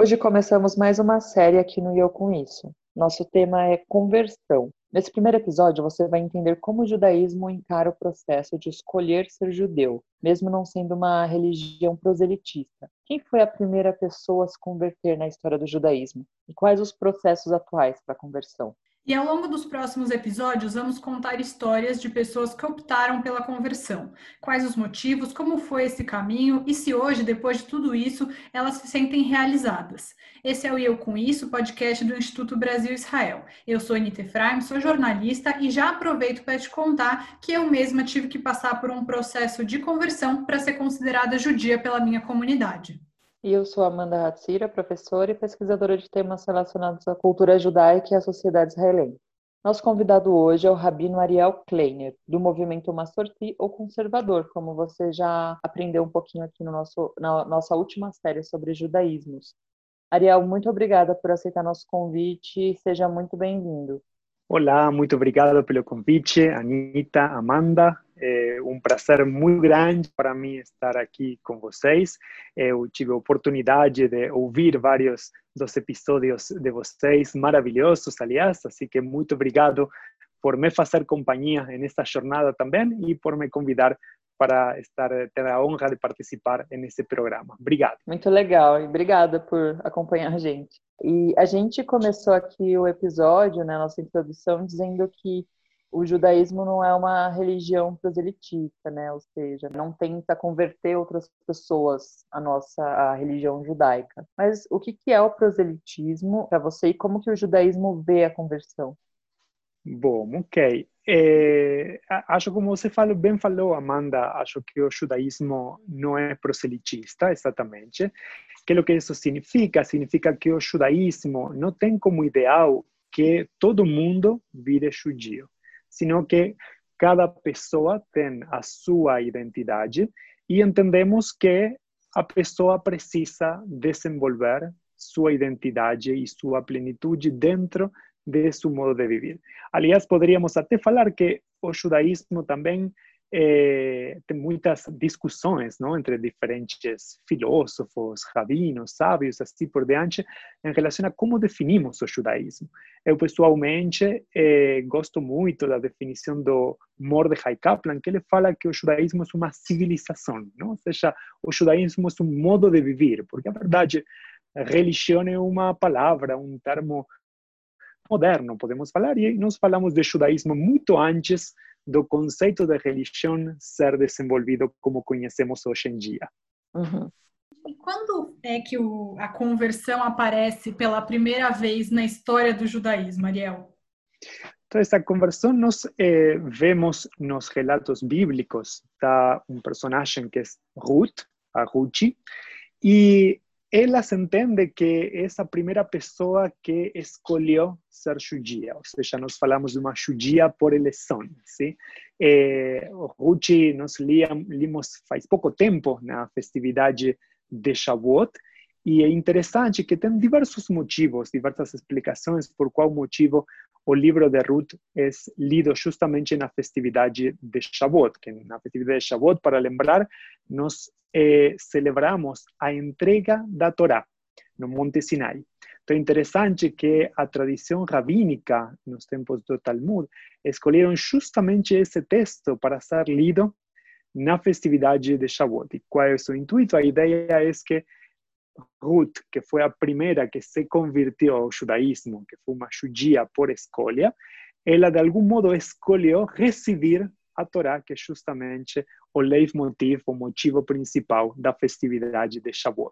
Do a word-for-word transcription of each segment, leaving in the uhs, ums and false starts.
Hoje começamos mais uma série aqui no E Eu Com Isso. Nosso tema é conversão. Nesse primeiro episódio, você vai entender como o judaísmo encara o processo de escolher ser judeu, mesmo não sendo uma religião proselitista. Quem foi a primeira pessoa a se converter na história do judaísmo? E quais os processos atuais para a conversão? E ao longo dos próximos episódios, vamos contar histórias de pessoas que optaram pela conversão. Quais os motivos, como foi esse caminho e se hoje, depois de tudo isso, elas se sentem realizadas. Esse é o E Eu Com Isso, podcast do Instituto Brasil Israel. Eu sou Anita Efraim, sou jornalista e já aproveito para te contar que eu mesma tive que passar por um processo de conversão para ser considerada judia pela minha comunidade. E eu sou Amanda Hatzira, professora e pesquisadora de temas relacionados à cultura judaica e à sociedade israelense. Nosso convidado hoje é o rabino Ariel Kleiner, do movimento Massorti ou conservador, como você já aprendeu um pouquinho aqui no nosso, na nossa última série sobre judaísmos. Ariel, muito obrigada por aceitar nosso convite e seja muito bem-vindo. Olá, muito obrigado pelo convite, Anita, Amanda. É um prazer muito grande para mim estar aqui com vocês. Eu tive a oportunidade de ouvir vários dos episódios de vocês, maravilhosos, aliás, assim que muito obrigado por me fazer companhia nesta jornada também e por me convidar para estar, ter a honra de participar nesse programa. Obrigado. Muito legal, e obrigada por acompanhar a gente. E a gente começou aqui o episódio, né, nossa introdução, dizendo que o judaísmo não é uma religião proselitista, né, ou seja, não tenta converter outras pessoas à nossa à religião judaica. Mas o que é o proselitismo para você e como que o judaísmo vê a conversão? Bom, ok. É, acho como você falou, bem falou, Amanda, acho que o judaísmo não é proselitista, exatamente. Que é o que isso significa? Significa que o judaísmo não tem como ideal que todo mundo vire judio, sino que cada pessoa tem a sua identidade e entendemos que a pessoa precisa desenvolver sua identidade e sua plenitude dentro de seu modo de viver. Aliás, poderíamos até falar que o judaísmo também eh, tem muitas discussões, não, entre diferentes filósofos, rabinos, sábios, assim por diante, em relação a como definimos o judaísmo. Eu, pessoalmente, eh, gosto muito da definição do Mordechai Kaplan, que ele fala que o judaísmo é uma civilização, não? Ou seja, o judaísmo é um modo de viver, porque, a verdade, a religião é uma palavra, um termo moderno, podemos falar, e nós falamos de judaísmo muito antes do conceito de religião ser desenvolvido como conhecemos hoje em dia. Uhum. E quando é que o, a conversão aparece pela primeira vez na história do judaísmo, Ariel? Então, essa conversão nós eh, vemos nos relatos bíblicos da um personagem que é Ruth, a Ruth, e ela se entende que é a primeira pessoa que escolheu ser judia, ou seja, nós falamos de uma judia por eleição. ¿Sí? Eh, Ruth nós limos faz pouco tempo na festividade de Shavuot, e é interessante que tem diversos motivos, diversas explicações por qual motivo o livro de Ruth é lido justamente na festividade de Shavuot, que na festividade de Shavuot, para lembrar, nós eh, celebramos a entrega da Torá no Monte Sinai. Então é interessante que a tradição rabínica, nos tempos do Talmud, escolheram justamente esse texto para ser lido na festividade de Shavuot. E qual é o seu intuito? A ideia é que Ruth, que foi a primeira que se converteu ao judaísmo, que foi uma judia por escolha, ela de algum modo escolheu receber a Torá, que é justamente o leitmotiv, o motivo principal da festividade de Shavuot.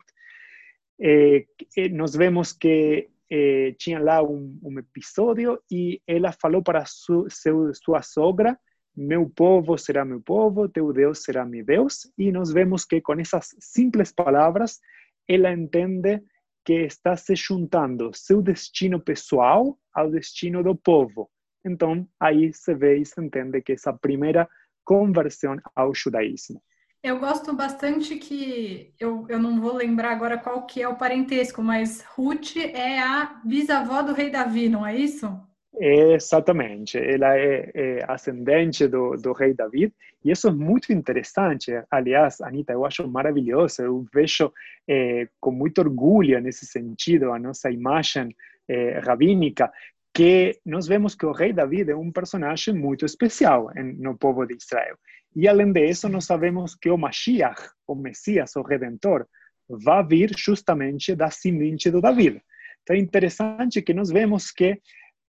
Eh, nós vemos que eh, tinha lá um, um episódio e ela falou para su, seu, sua sogra: meu povo será meu povo, teu Deus será meu Deus. E nós vemos que com essas simples palavras ela entende que está se juntando seu destino pessoal ao destino do povo. Então, aí se vê e se entende que essa primeira conversão ao judaísmo. Eu gosto bastante que, eu, eu não vou lembrar agora qual que é o parentesco, mas Ruth é a bisavó do rei Davi, não é isso? Exatamente, ela é, é ascendente do, do rei David, e isso é muito interessante. Aliás, Anita, eu acho maravilhoso, eu vejo é, com muito orgulho nesse sentido a nossa imagem é, rabínica, que nós vemos que o rei David é um personagem muito especial em, no povo de Israel. E além disso, nós sabemos que o Mashiach, o Messias, o Redentor, vai vir justamente da semente do David. Então é interessante que nós vemos que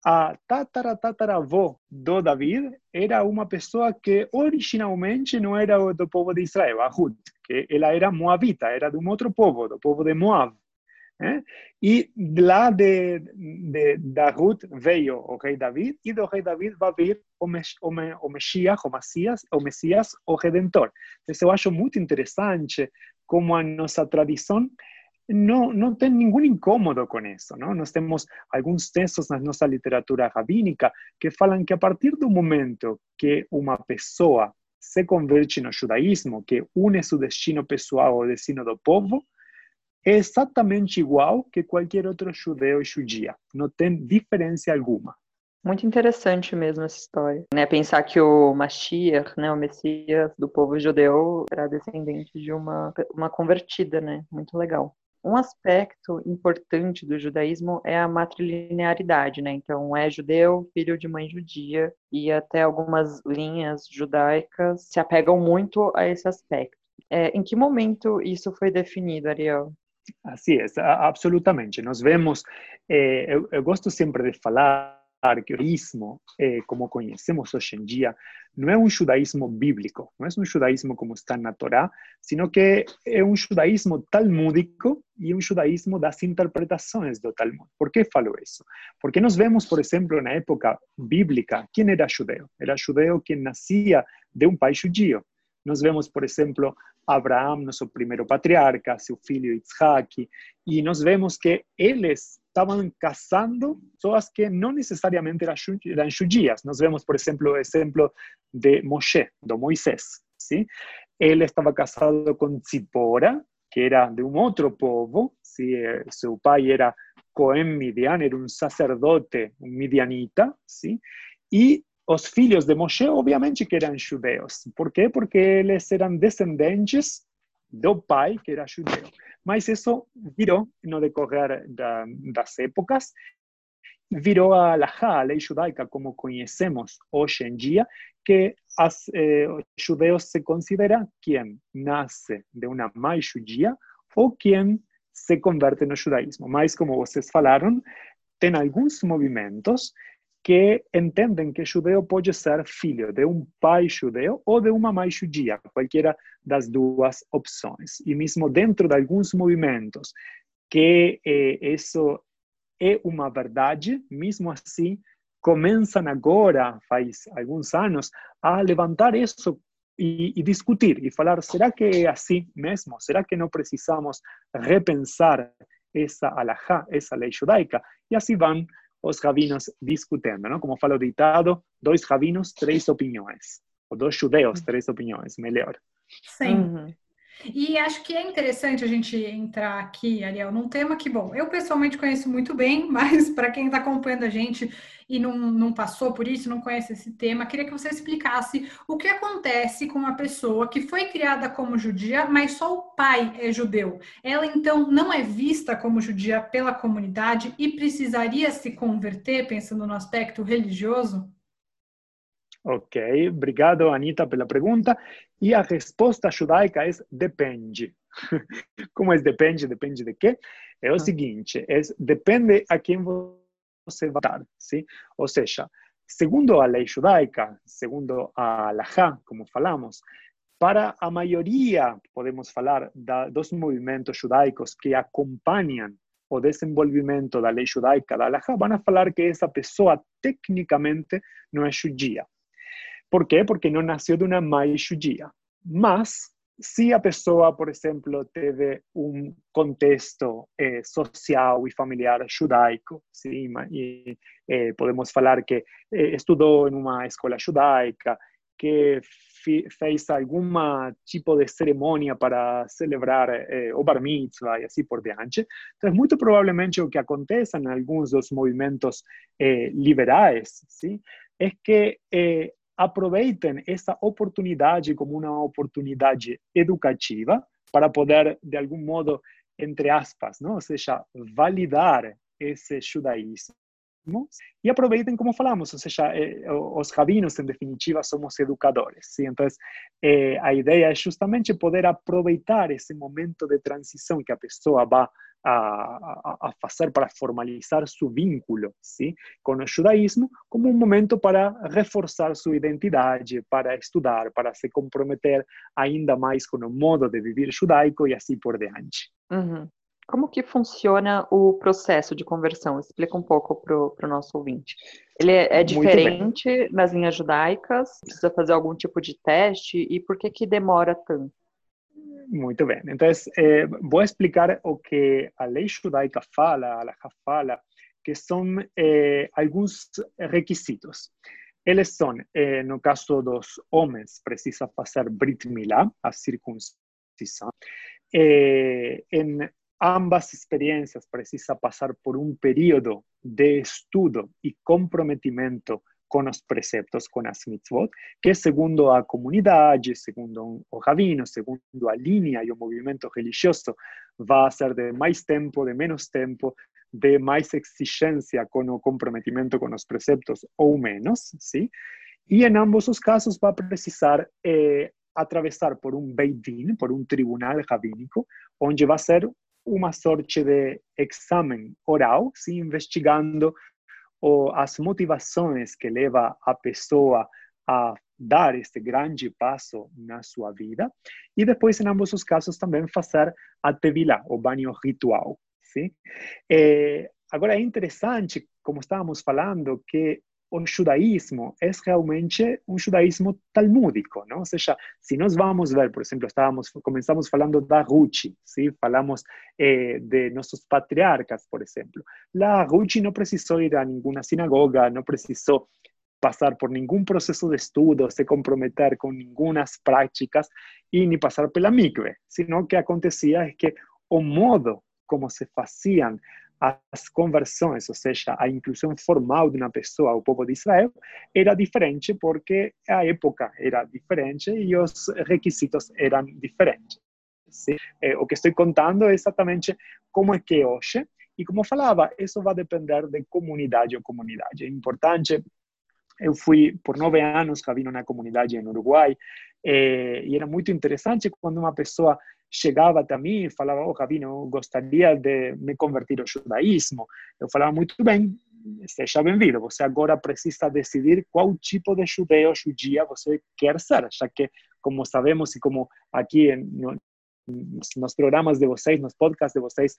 a tatara, tataravó do David era uma pessoa que originalmente não era do povo de Israel, a Ruth, que ela era moabita, era de um outro povo, do povo de Moab. Né? E lá de, de, da Ruth veio o rei David, e do rei David vai vir o, Mes, o, o Messias, o Messias, o Messias, o Redentor. Então eu acho muito interessante como a nossa tradição não, não tem nenhum incômodo com isso. Não? Nós temos alguns textos na nossa literatura rabínica que falam que a partir do momento que uma pessoa se converte no judaísmo, que une seu destino pessoal ao destino do povo, é exatamente igual que qualquer outro judeu e judia. Não tem diferença alguma. Muito interessante mesmo essa história, né? Pensar que o Mashiach, né, o Messias do povo judeu, era descendente de uma, uma convertida, né? Muito legal. Um aspecto importante do judaísmo é a matrilinearidade, né? Então, é judeu, filho de mãe judia, e até algumas linhas judaicas se apegam muito a esse aspecto. É, em que momento isso foi definido, Ariel? Assim é, absolutamente. Nós vemos, eh, eu, eu gosto sempre de falar que o judaísmo, eh, como conhecemos hoje em dia, não é um judaísmo bíblico, não é um judaísmo como está na Torá, sino que é um judaísmo talmúdico e um judaísmo das interpretações do Talmud. Por que falo isso? Porque nós vemos, por exemplo, na época bíblica, quem era judeu? Era judeu quem nascia de um pai judio. Nós vemos, por exemplo, Abraão, nosso primeiro patriarca, seu filho Isaac, e nós vemos que eles estavam casando pessoas que não necessariamente eram judias. Nós vemos, por exemplo, o exemplo de Moshe, do Moisés. ¿Sí? Ele estava casado com Tzipora, que era de um outro povo. ¿Sí? Seu pai era Cohen Midian, era um sacerdote, um midianita. ¿Sí? E os filhos de Moshe, obviamente que eram judeus. Por quê? Porque eles eram descendentes do pai, que era judeu. Mas isso virou, no decorrer da, das épocas, virou a halajá, a lei judaica, como conhecemos hoje em dia, que as, eh, os judeus se considera quem nasce de uma mãe judia ou quem se converte no judaísmo. Mas, como vocês falaram, tem alguns movimentos que entendem que judeu pode ser filho de um pai judeu ou de uma mãe judia, qualquer das duas opções. E mesmo dentro de alguns movimentos que eh, isso é uma verdade, mesmo assim, começam agora, faz alguns anos, a levantar isso e, e discutir, e falar, será que é assim mesmo? Será que não precisamos repensar essa alahá, essa lei judaica? E assim vão os rabinos discutindo, não? Como fala o ditado, dois rabinos, três opiniões. Ou dois judeus, três opiniões, melhor. Sim. Uhum. E acho que é interessante a gente entrar aqui, Ariel, num tema que, bom, eu pessoalmente conheço muito bem, mas para quem está acompanhando a gente e não, não passou por isso, não conhece esse tema, queria que você explicasse o que acontece com uma pessoa que foi criada como judia, mas só o pai é judeu. Ela, então, não é vista como judia pela comunidade e precisaria se converter, pensando no aspecto religioso? Ok, obrigado, Anita, pela pergunta. E a resposta judaica é depende. Como é depende? Depende de quê? É o seguinte, é, depende a quem você vai dar. ¿Sí? Ou seja, segundo a lei judaica, segundo a halajá, como falamos, para a maioria, podemos falar, da, dos movimentos judaicos que acompanham o desenvolvimento da lei judaica, da halajá, vão falar que essa pessoa, tecnicamente, não é judia. Por quê? Porque não nasceu de uma mãe judia. Mas, se a pessoa, por exemplo, teve um contexto eh, social e familiar judaico, sim, e, eh, podemos falar que eh, estudou em uma escola judaica, que fi, fez algum tipo de cerimônia para celebrar eh, o bar mitzvah e assim por diante. Então, muito provavelmente o que acontece em alguns dos movimentos eh, liberais, sim, é que eh, aproveitem essa oportunidade como uma oportunidade educativa para poder, de algum modo, entre aspas, não? Ou seja, validar esse judaísmo. E aproveitem, como falamos, ou seja, eh, os rabinos, em definitiva, somos educadores. ¿sí? Então, eh, a ideia é justamente poder aproveitar esse momento de transição que a pessoa vai a, a, a fazer para formalizar seu vínculo ¿sí? com o judaísmo, como um momento para reforçar sua identidade, para estudar, para se comprometer ainda mais com o modo de viver judaico e assim por diante. Uhum. Como que funciona o processo de conversão? Explica um pouco para o nosso ouvinte. Ele é, é diferente nas linhas judaicas? Precisa fazer algum tipo de teste? E por que que demora tanto? Muito bem. Então, eh, vou explicar o que a lei judaica fala, a Halakha fala, que são eh, alguns requisitos. Eles são, eh, no caso dos homens, precisa fazer Brit Milá, a circuncisão. Eh, em ambas experiências precisa passar por um período de estudo e comprometimento com os preceptos, com as mitzvot, que segundo a comunidade, segundo o rabino, segundo a linha e o movimento religioso, vai ser de mais tempo, de menos tempo, de mais exigência com o comprometimento com os preceptos ou menos, sim? E em ambos os casos vai precisar eh, atravessar por um Beit Din, por um tribunal rabínico, onde vai ser uma sorte de exame oral, sim, investigando o, as motivações que leva a pessoa a dar este grande passo na sua vida. E depois, em ambos os casos, também fazer a tevilá, o banho ritual. Sim? É, agora, é interessante, como estávamos falando, que o judaísmo é realmente um judaísmo talmúdico, não? Ou seja, se nós vamos ver, por exemplo, estávamos, começamos falando da Ruth, ¿sí? Falamos eh, de nossos patriarcas, por exemplo. La Ruth não precisou ir a nenhuma sinagoga, não precisou passar por nenhum processo de estudo, se comprometer com nenhumas práticas e nem passar pela mikve, senão o que acontecia é que o modo como se faziam as conversões, ou seja, a inclusão formal de uma pessoa ao povo de Israel, era diferente porque a época era diferente e os requisitos eram diferentes. Sim? O que estou contando é exatamente como é que hoje, e como falava, isso vai depender de comunidade ou comunidade. É importante. Eu fui por nove anos rabino na comunidade no Uruguai, eh, e era muito interessante quando uma pessoa chegava até mim e falava, oh, rabino, eu gostaria de me convertir ao judaísmo. Eu falava, muito bem, seja bem-vindo. Você agora precisa decidir qual tipo de judeu ou judia você quer ser, já que, como sabemos e como aqui no, nos programas de vocês, nos podcasts de vocês,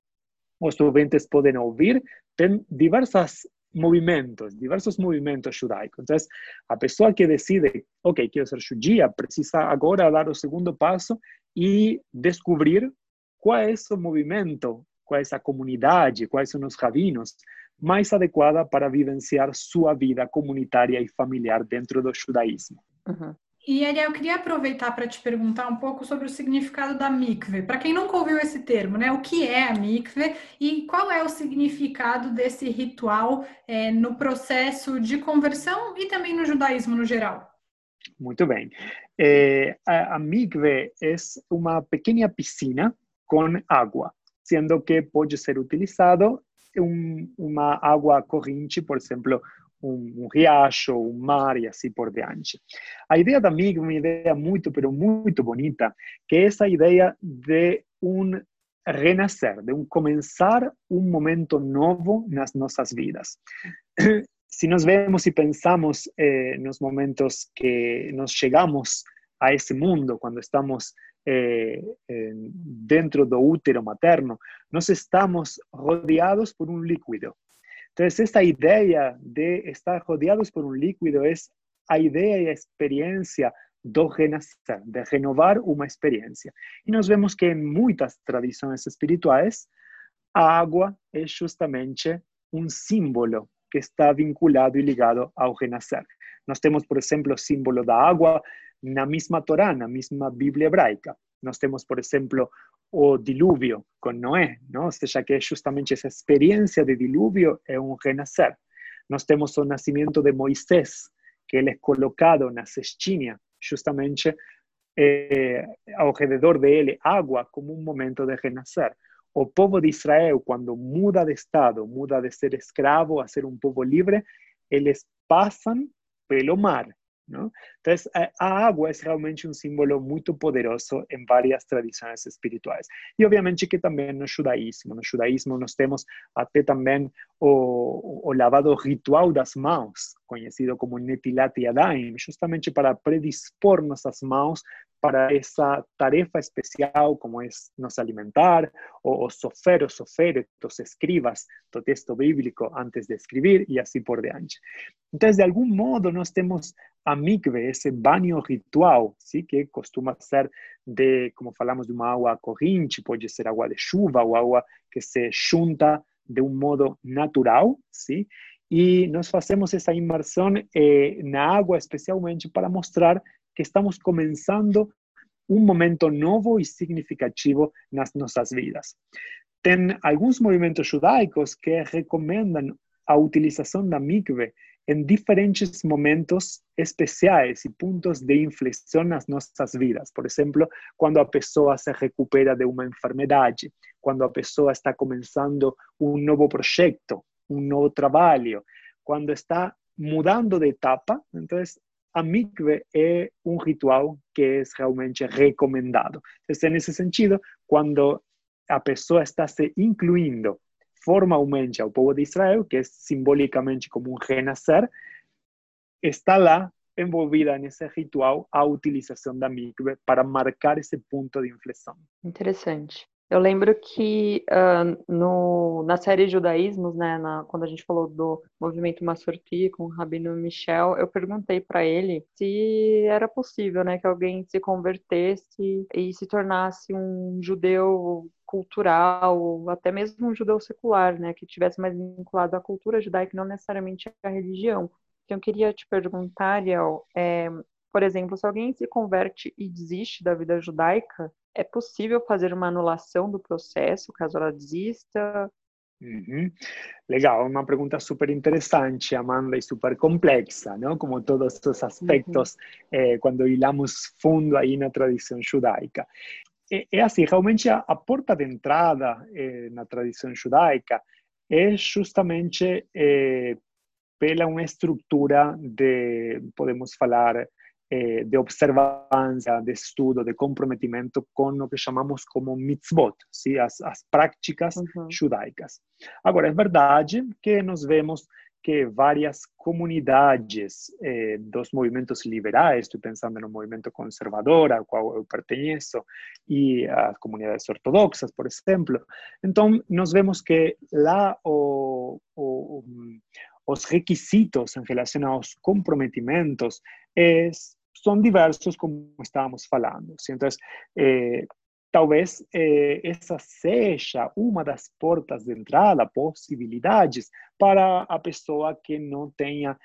os ouvintes podem ouvir, tem diversas movimentos, diversos movimentos judaicos. Então, a pessoa que decide, ok, quero ser judia, precisa agora dar o segundo passo e descobrir qual é o movimento, qual é a comunidade, quais são os rabinos mais adequada para vivenciar sua vida comunitária e familiar dentro do judaísmo. Uhum. E, Ariel, eu queria aproveitar para te perguntar um pouco sobre o significado da mikve. Para quem nunca ouviu esse termo, né? O que é a mikve e qual é o significado desse ritual é, no processo de conversão e também no judaísmo no geral? Muito bem. É, a, a mikve é uma pequena piscina com água, sendo que pode ser utilizado um, uma água corrente, por exemplo, um, um riacho, um mar e assim por diante. A ideia da mikve é uma ideia muito, pero muito bonita, que é essa ideia de um renascer, de um começar um momento novo nas nossas vidas. Se nós vemos e pensamos eh, nos momentos que nós chegamos a esse mundo, quando estamos eh, eh, dentro do útero materno, nós estamos rodeados por um líquido. Então, essa ideia de estar rodeados por um líquido é a ideia e a experiência do renascer, de renovar uma experiência. E nós vemos que em muitas tradições espirituais, a água é justamente um símbolo que está vinculado e ligado ao renascer. Nós temos, por exemplo, o símbolo da água na mesma Torá, na mesma Bíblia hebraica. Nós temos, por exemplo, o dilúvio com Noé, não? Ou seja, que é justamente essa experiência de dilúvio é um renascer. Nós temos o nascimento de Moisés, que ele é colocado na cestinha, justamente eh, ao redor dele, água como um momento de renascer. O povo de Israel, quando muda de estado, muda de ser escravo a ser um povo livre, eles passam pelo mar, não? Então, a água é realmente um símbolo muito poderoso em várias tradições espirituais. E, obviamente, que também no judaísmo. No judaísmo, nós temos até também o, o lavado ritual das mãos, conhecido como Netilat Yadayim, justamente para predispor nossas mãos para essa tarefa especial, como é nos alimentar, ou os sofer, os soferet, os escribas do texto bíblico antes de escrever, e assim por diante. Então, de algum modo, nós temos a mikve, esse banho ritual, ¿sí? Que costuma ser de, como falamos, de uma água corrente, pode ser água de chuva ou água que se junta de um modo natural, ¿sí? E nós fazemos essa imersão eh, na água especialmente para mostrar que estamos começando um momento novo e significativo nas nossas vidas. Tem alguns movimentos judaicos que recomendam a utilização da mikve em diferentes momentos especiais e pontos de inflexão nas nossas vidas. Por exemplo, quando a pessoa se recupera de uma enfermidade, quando a pessoa está começando um novo projeto, um novo trabalho, quando está mudando de etapa. Então, a mikve é um ritual que é realmente recomendado. Então, nesse sentido, quando a pessoa está se incluindo formalmente ao povo de Israel, que é simbolicamente como um renascer, está lá envolvida nesse ritual a utilização da mikve para marcar esse ponto de inflexão. Interessante. Eu lembro que uh, no, na série Judaísmos, né, na, quando a gente falou do movimento Massorti com o Rabino Michel, eu perguntei para ele se era possível, né, que alguém se convertesse e se tornasse um judeu cultural, ou até mesmo um judeu secular, né, que tivesse mais vinculado à cultura judaica, não necessariamente à religião. Então, eu queria te perguntar, Ariel, é, por exemplo, se alguém se converte e desiste da vida judaica, é possível fazer uma anulação do processo, caso ela desista? Uhum. Legal, uma pergunta super interessante, Amanda, e super complexa, não? Como todos os aspectos, uhum. eh, quando hilamos fundo aí na tradição judaica. É, é assim, realmente a, a porta de entrada eh, na tradição judaica é justamente eh, pela uma estrutura de, podemos falar, eh, de observância, de estudo, de comprometimento com o que chamamos como mitzvot, ¿sí? as, as práticas uhum. judaicas. Agora, é verdade que nós vemos que várias comunidades eh, dos movimentos liberais, estou pensando no movimento conservador ao qual eu pertenço, e as comunidades ortodoxas, por exemplo. Então, nós vemos que lá o, o, os requisitos em relação aos comprometimentos é, são diversos, como estávamos falando. Então, eh, talvez eh, essa seja uma das portas de entrada, possibilidades para a pessoa que não tenha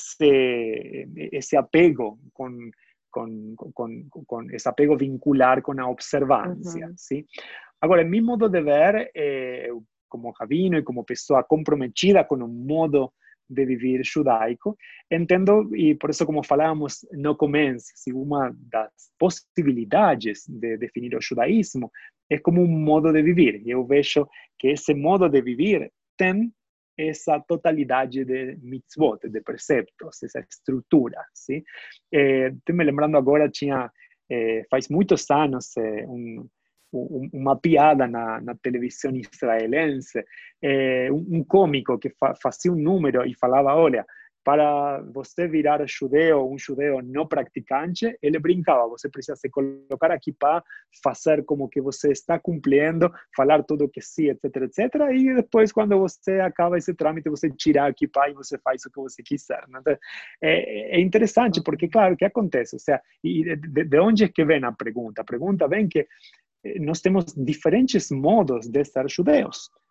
esse, esse apego com, com, com, com esse apego vincular com a observância. Uhum. ¿Sí? Agora, em meu modo de ver, eh, como rabino e como pessoa comprometida com o modo de viver judaico, entendo, e por isso, como falávamos no começo, uma das possibilidades de definir o judaísmo é como um modo de viver. Eu vejo que esse modo de viver tem essa totalidade de mitzvot, de preceptos, essa estrutura. ¿Sí? Eh, estou me lembrando agora, tinha, eh, faz muitos anos, eh, um uma piada na, na televisão israelense, é, um, um cômico que fa, fazia um número e falava, olha, para você virar judeu, um judeu não praticante, ele brincava, você precisa se colocar aqui para fazer como que você está cumprindo, falar tudo que sim, etc, etc, e depois, quando você acaba esse trâmite, você tira aqui para e você faz o que você quiser. Então, é, é interessante, porque, claro, o que acontece? Ou seja, e de, de onde é que vem a pergunta? A pergunta vem que nós temos diferentes modos de ser judeus.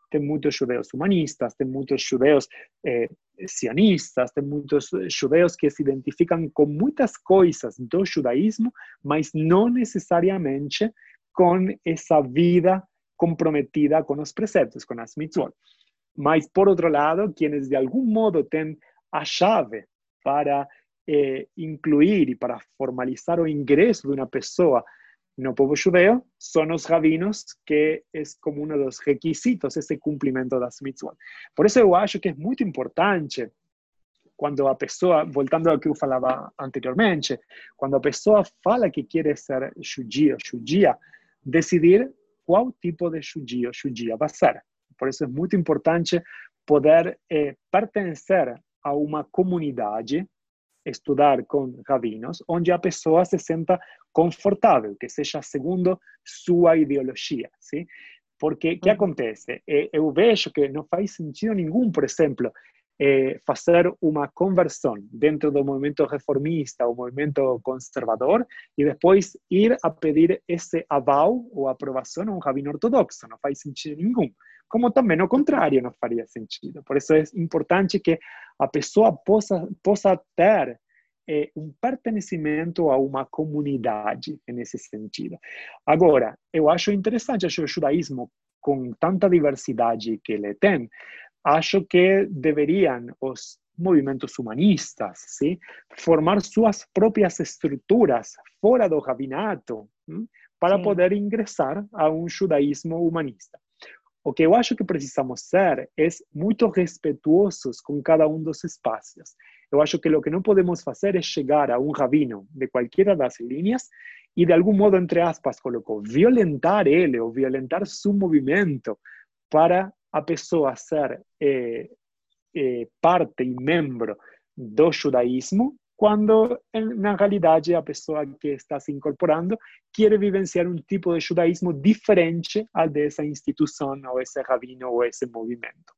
tem muitos judeus humanistas, tem muitos judeus eh, sionistas, tem muitos judeus que se identificam com muitas coisas do judaísmo, mas não necessariamente com essa vida comprometida com os preceptos, com as mitzvot. Mas, por outro lado, quienes de algum modo têm a chave para eh, incluir e para formalizar o ingresso de uma pessoa no povo judeu são os rabinos, que é como um dos requisitos esse cumprimento das mitzvot. Por isso eu acho que é muito importante, quando a pessoa, voltando ao que eu falava anteriormente, quando a pessoa fala que quer ser judia, judia, decidir qual tipo de judio, judia vai ser. Por isso é muito importante poder eh, pertencer a uma comunidade, estudar com rabinos, onde a pessoa se sinta confortável, que seja segundo sua ideologia, sim? Porque o que acontece? Eu vejo que não faz sentido nenhum, por exemplo, eh, fazer uma conversão dentro do movimento reformista ou movimento conservador e depois ir a pedir esse aval ou aprovação a um rabino ortodoxo. Não faz sentido nenhum. Como também o contrário não faria sentido. Por isso é importante que a pessoa possa, possa ter eh, um pertencimento a uma comunidade nesse sentido. Agora, eu acho interessante, acho o judaísmo, com tanta diversidade que ele tem, acho que deveriam os movimentos humanistas, sim, formar suas próprias estruturas fora do rabinato, sim, para sim. poder ingressar a um judaísmo humanista. O que eu acho que precisamos ser é muito respeituosos com cada um dos espaços. Eu acho que o que não podemos fazer é chegar a um rabino de qualquer das linhas e, de algum modo, entre aspas, colocou, violentar ele ou violentar seu movimento para a pessoa ser eh, eh, parte e membro do judaísmo, quando, na realidade, a pessoa que está se incorporando quer vivenciar um tipo de judaísmo diferente ao dessa instituição, ou esse rabino, ou esse movimento.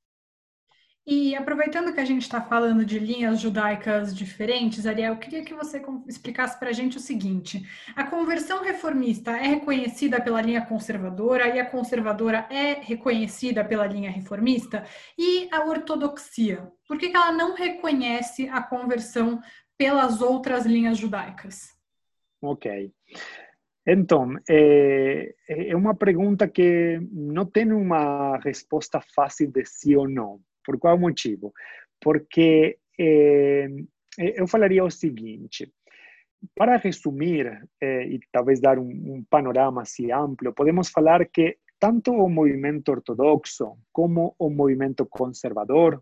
E aproveitando que a gente está falando de linhas judaicas diferentes, Ariel, eu queria que você explicasse para a gente o seguinte: a conversão reformista é reconhecida pela linha conservadora e a conservadora é reconhecida pela linha reformista? E a ortodoxia? Por que que ela não reconhece a conversão pelas outras linhas judaicas? Ok. Então, é, é uma pergunta que não tem uma resposta fácil de sim ou não. Por qual motivo? Porque é, eu falaria o seguinte, para resumir é, e talvez dar um, um panorama assim amplo, podemos falar que tanto o movimento ortodoxo como o movimento conservador,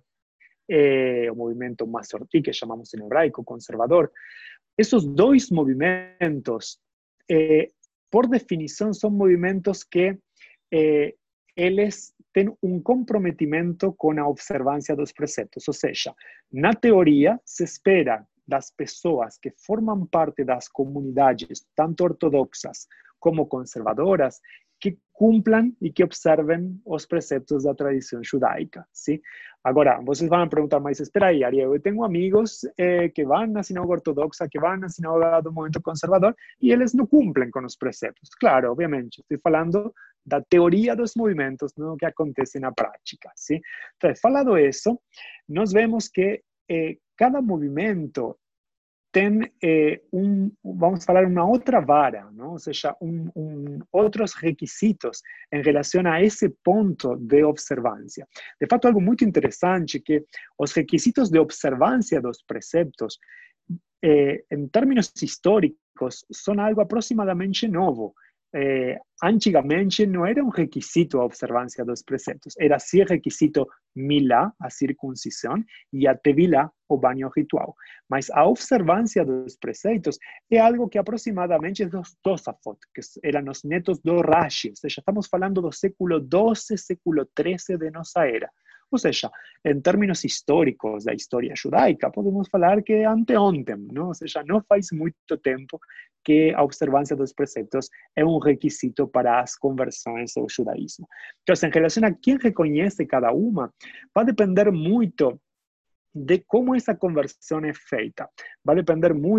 é, o movimento masorti, que chamamos em hebraico conservador, esses dois movimentos, eh, por definição, são movimentos que eh, eles têm um comprometimento com a observância dos preceptos. Ou seja, na teoria, se espera das pessoas que formam parte das comunidades, tanto ortodoxas como conservadoras, que cumpram e que observem os preceptos da tradição judaica, sim? Agora, vocês vão perguntar, mas espera aí, Ariel, eu tenho amigos eh, que vão na sinagoga ortodoxa, que vão na sinagoga do movimento conservador, e eles não cumprem com os preceptos. Claro, obviamente, estou falando da teoria dos movimentos, não que acontece na prática, sim? Então, falado isso, nós vemos que eh, cada movimento tem eh, um, vamos falar, uma outra vara, não? Ou seja, um, um, outros requisitos em relação a esse ponto de observância. De fato, algo muito interessante que os requisitos de observância dos preceptos, eh, em termos históricos, são algo aproximadamente novo. Eh, antigamente não era um requisito a observância dos preceptos, era sim requisito milá, a circuncisão, e a tevilá, o banho ritual. Mas a observância dos preceitos é algo que aproximadamente dos Tosafot, que eram os netos do Rashi, ou seja, estamos falando do século doze, século treze de nossa era. Ou seja, em termos históricos da história judaica, podemos falar que é anteontem, não? Ou seja, não faz muito tempo que a observância dos preceptos é um requisito para as conversões ao judaísmo. Então, em relação a quem reconhece cada uma, vai depender muito de como essa conversão é feita. Vai depender muito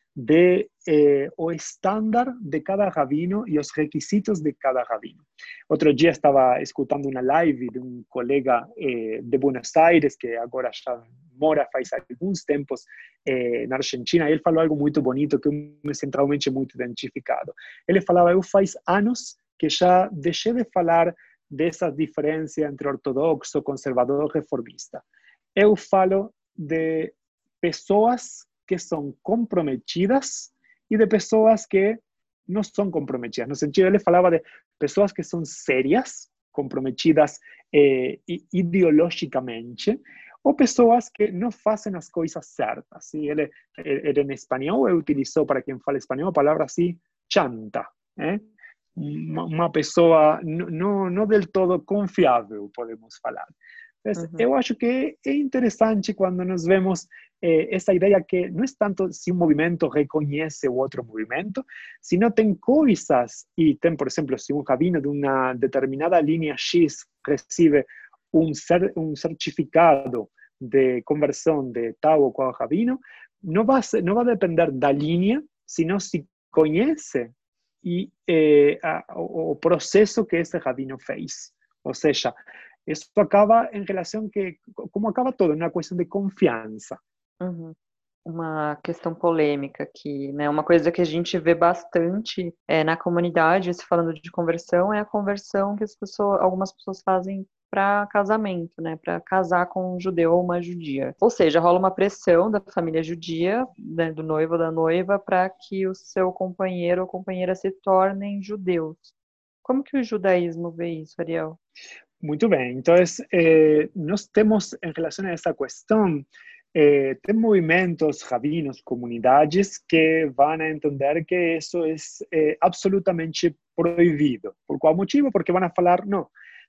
de eh, o estándar de cada rabino y los requisitos de cada rabino. Otro día estaba escuchando una live de un colega eh, de Buenos Aires, que ahora ya mora faz alguns tempos eh, na Argentina, e ele falou algo muito bonito que eu me sinto realmente muito identificado. Ele falava, eu faz anos que já deixei de falar dessa diferença entre ortodoxo, conservador e reformista. Eu falo de pessoas que são comprometidas e de pessoas que não são comprometidas. No sentido, ele falava de pessoas que são sérias, comprometidas eh, ideologicamente, ou pessoas que não fazem as coisas certas. ¿Sí? Ele, ele, em espanhol, ele utilizou, para quem fala espanhol, a palavra assim, chanta. ¿eh? Uma, uma pessoa não, não del todo confiável, podemos falar. Então, uhum. Eu acho que é interessante quando nós vemos eh, essa ideia que não é tanto se um movimento reconhece o outro movimento, sino tem coisas, e tem, por exemplo, se um rabino de uma determinada linha X recebe um, cer um certificado de conversão de tal ou qual rabino, não vai, não vai depender da linha, sino se conhece e, eh, a, o, o processo que esse rabino fez. Ou seja, isso acaba em relação que, como acaba todo, uma questão de confiança. Uhum. Uma questão polêmica aqui, né? Uma coisa que a gente vê bastante é, na comunidade, se falando de conversão, é a conversão que as pessoas, algumas pessoas fazem para casamento, né? Para casar com um judeu ou uma judia. Ou seja, rola uma pressão da família judia, né, do noivo ou da noiva, para que o seu companheiro ou companheira se tornem judeus. Como que o judaísmo vê isso, Ariel? Muito bem. Então, eh, nós temos, em relação a essa questão, eh, tem movimentos, rabinos, comunidades que vão entender que isso é eh, absolutamente proibido. Por qual motivo? Porque vão falar, não,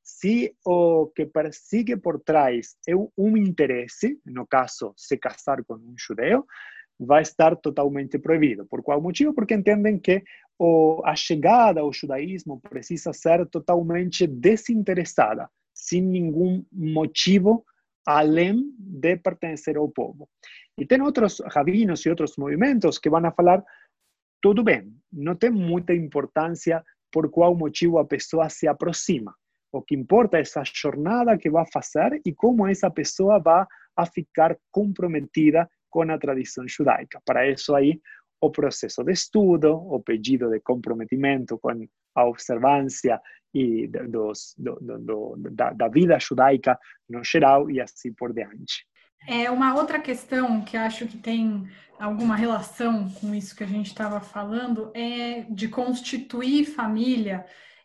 se o que persigue por trás é um interesse, no caso, se casar com um judeu, vai estar totalmente proibido. Por qual motivo? Porque entendem que o, a chegada ao judaísmo precisa ser totalmente desinteressada, sem nenhum motivo além de pertencer ao povo. E tem outros rabinos e outros movimentos que vão falar, tudo bem, não tem muita importância por qual motivo a pessoa se aproxima. O que importa é essa jornada que vai fazer e como essa pessoa vai a ficar comprometida com a tradição judaica. Para isso aí, o processo de estudo, o pedido de comprometimento com a observância e dos, do, do, do, da, da vida judaica no geral e assim por diante. É uma outra questão que acho que tem alguma relação com isso que a gente estava falando é de constituir família,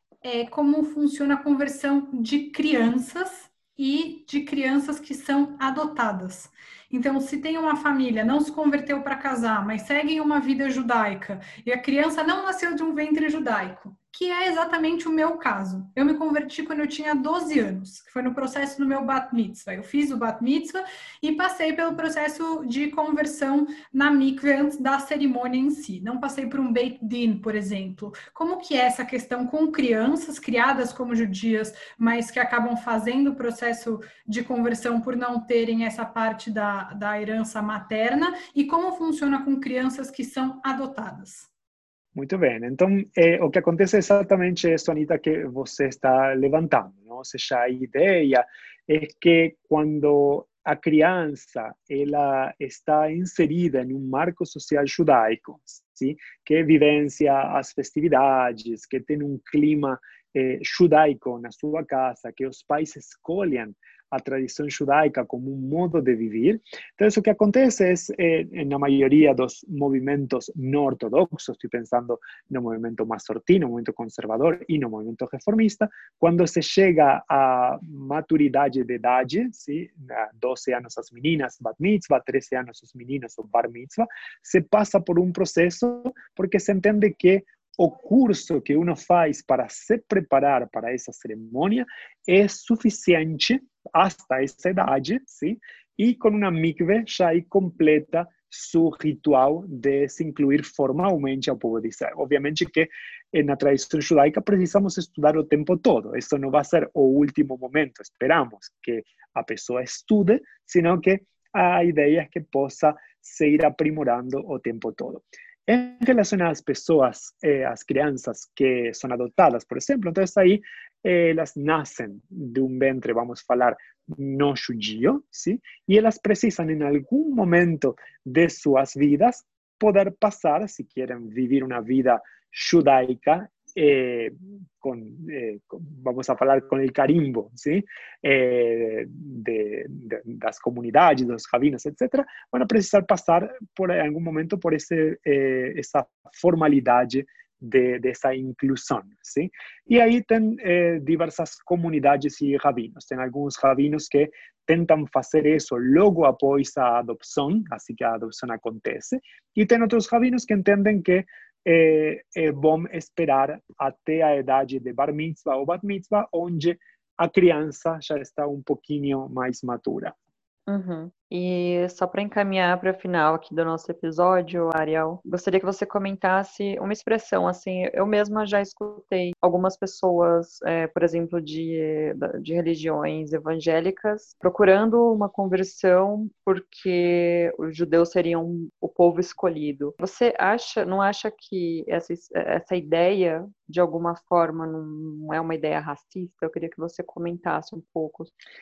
é como funciona a conversão de crianças e de crianças que são adotadas. Então, se tem uma família, não se converteu para casar, mas segue uma vida judaica, e a criança não nasceu de um ventre judaico, que é exatamente o meu caso. Eu me converti quando eu tinha doze anos, que foi no processo do meu bat mitzvah. Eu fiz o bat mitzvah e passei pelo processo de conversão na mikve antes da cerimônia em si. Não passei por um beit din, por exemplo. Como que é essa questão com crianças criadas como judias, mas que acabam fazendo o processo de conversão por não terem essa parte da, da herança materna, e como funciona com crianças que são adotadas? Muito bem. Então, eh, o que acontece é exatamente isso, Anita, que você está levantando. Não? Ou seja, a ideia é que quando a criança ela está inserida em um marco social judaico, sim? Que vivencia as festividades, que tem um clima eh, judaico na sua casa, que os pais escolhem a tradição judaica como um modo de viver. Então, o que acontece é, eh, na maioria dos movimentos não ortodoxos, estou pensando no movimento massortino, no movimento conservador e no movimento reformista, quando se chega à maturidade de idade, sim, doze anos as meninas, bat mitzvah, treze anos os meninos, o bar mitzvah, se passa por um processo porque se entende que o curso que uno faz para se preparar para essa cerimônia é suficiente hasta essa idade, sim? E com uma mikve já aí completa seu ritual de se incluir formalmente ao povo de Israel. Obviamente que na tradição judaica precisamos estudar o tempo todo. Isso não vai ser o último momento. Esperamos que a pessoa estude, senão que a ideia é que possa se ir aprimorando o tempo todo. Em relação às pessoas, eh, às crianças que são adotadas, por exemplo, então aí eh, elas nascem de um ventre, vamos falar, não judio, ¿sí? E elas precisam, em algum momento de suas vidas, poder passar, se querem viver uma vida judaica, eh, con, eh, con, vamos a falar com o carimbo, ¿sí? eh, de, de, das comunidades, dos rabinos, etcétera, vão precisar passar por em algum momento por esse, eh, essa formalidade de, dessa inclusão, ¿sí? E aí tem eh, diversas comunidades e rabinos. Tem alguns rabinos que tentam fazer isso logo após a adopção, assim que a adopção acontece, e tem outros rabinos que entendem que É, é bom esperar até a idade de bar mitzvah ou bat mitzvah, onde a criança já está um pouquinho mais madura. Uhum. E só para encaminhar para o final aqui do nosso episódio, Ariel, gostaria que você comentasse uma expressão, assim, eu mesma já escutei algumas pessoas, é, por exemplo, de, de religiões evangélicas, procurando uma conversão porque os judeus seriam o povo escolhido. Você acha, não acha que essa, essa ideia, de alguma forma, não é uma ideia racista? Eu queria que você comentasse um pouco.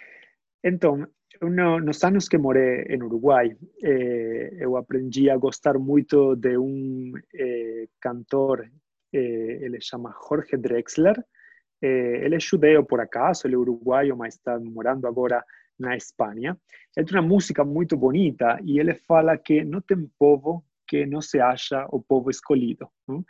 Então, no, nos anos que morei em Uruguai, eh, eu aprendi a gostar muito de um eh, cantor, eh, ele chama Jorge Drexler. Eh, ele é judeu por acaso, ele é uruguaio, mas está morando agora na Espanha. Ele tem uma música muito bonita e ele fala que não tem povo que não se acha o povo escolhido. Não?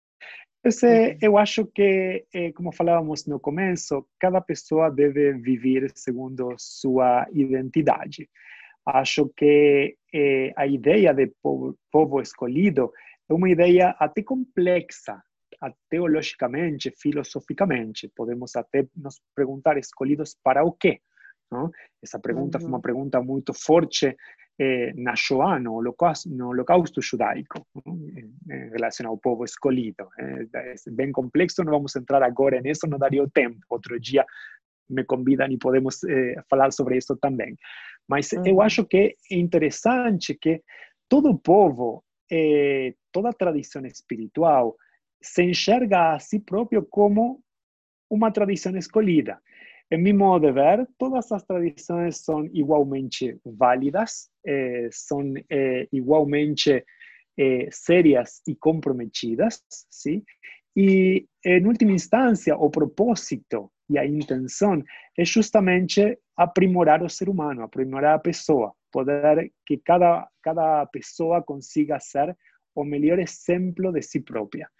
Esse, eu acho que, eh, como falávamos no começo, cada pessoa deve viver segundo sua identidade. Acho que eh, a ideia de povo, povo escolhido é uma ideia até complexa, teologicamente, filosoficamente. Podemos até nos perguntar, escolhidos para o quê? Não? Essa pergunta uhum. foi uma pergunta muito forte eh, na Shoah, no holocausto, no holocausto judaico, em, em relação ao povo escolhido. É, é bem complexo, não vamos entrar agora nisso, não daria o tempo. Outro dia me convidam e podemos eh, falar sobre isso também. Mas uhum. eu acho que é interessante que todo povo, eh, toda tradição espiritual, se enxerga a si próprio como uma tradição escolhida. Em meu modo de ver, todas as tradições são igualmente válidas, eh, são eh, igualmente eh, sérias e comprometidas, ¿sí? E, em última instância, o propósito e a intenção é justamente aprimorar o ser humano, aprimorar a pessoa, poder que cada, cada pessoa consiga ser o melhor exemplo de si própria.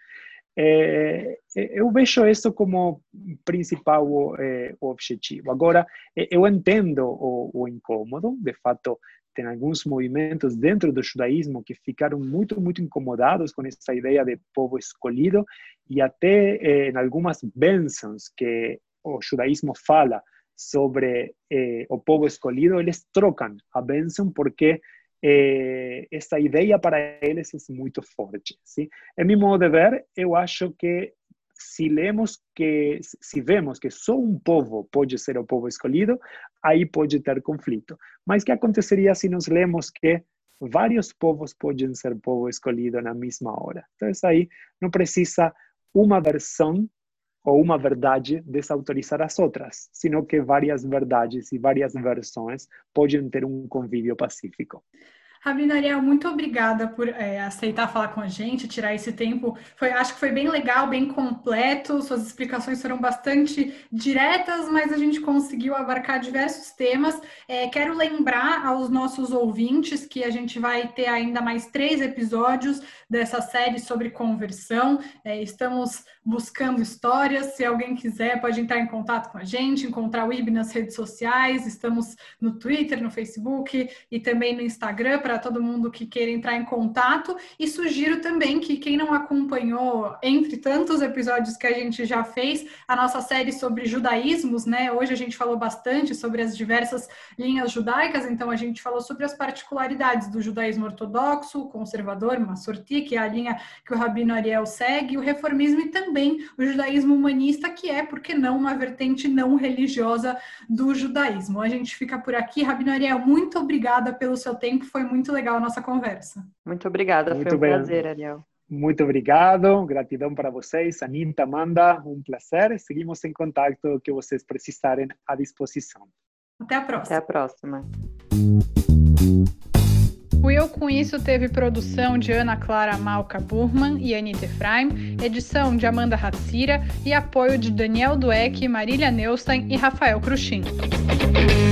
É, eu vejo isso como principal é, objetivo. Agora, eu entendo o, o incômodo, de fato, tem alguns movimentos dentro do judaísmo que ficaram muito, muito incomodados com essa ideia de povo escolhido e até é, em algumas bênçãos que o judaísmo fala sobre é, o povo escolhido, eles trocam a bênção porque Eh, essa ideia para eles é muito forte. ¿Sí? Em meu modo de ver, eu acho que se lemos que, se vemos que só um povo pode ser o povo escolhido, aí pode ter conflito. Mas o que aconteceria se nós lemos que vários povos podem ser povo escolhido na mesma hora? Então, aí não precisa uma versão ou uma verdade desautorizar as outras, sino que várias verdades e várias versões podem ter um convívio pacífico. Rabino Ariel, muito obrigada por é, aceitar falar com a gente, tirar esse tempo. Foi, acho que foi bem legal, bem completo. Suas explicações foram bastante diretas, mas a gente conseguiu abarcar diversos temas. É, quero lembrar aos nossos ouvintes que a gente vai ter ainda mais três episódios dessa série sobre conversão. É, estamos buscando histórias. Se alguém quiser, pode entrar em contato com a gente, encontrar o I B nas redes sociais. Estamos no Twitter, no Facebook e também no Instagram, para todo mundo que queira entrar em contato, e sugiro também que quem não acompanhou, entre tantos episódios que a gente já fez, a nossa série sobre judaísmos, né? Hoje a gente falou bastante sobre as diversas linhas judaicas, então a gente falou sobre as particularidades do judaísmo ortodoxo, conservador, massorti, que é a linha que o Rabino Ariel segue, o reformismo e também o judaísmo humanista, que é, por que não, uma vertente não religiosa do judaísmo. A gente fica por aqui. Rabino Ariel, muito obrigada pelo seu tempo, foi muito muito legal a nossa conversa. Muito obrigada, Muito foi um bem. prazer, Ariel. Muito obrigado, gratidão para vocês. Anita, Amanda, um prazer. Seguimos em contato, o que vocês precisarem à disposição. Até a próxima. Até a próxima. O Eu Com Isso teve produção de Ana Clara Malca Burman e Anita Efraim, edição de Amanda Hatzira e apoio de Daniel Dueck, Marília Neustein e Rafael Cruxin.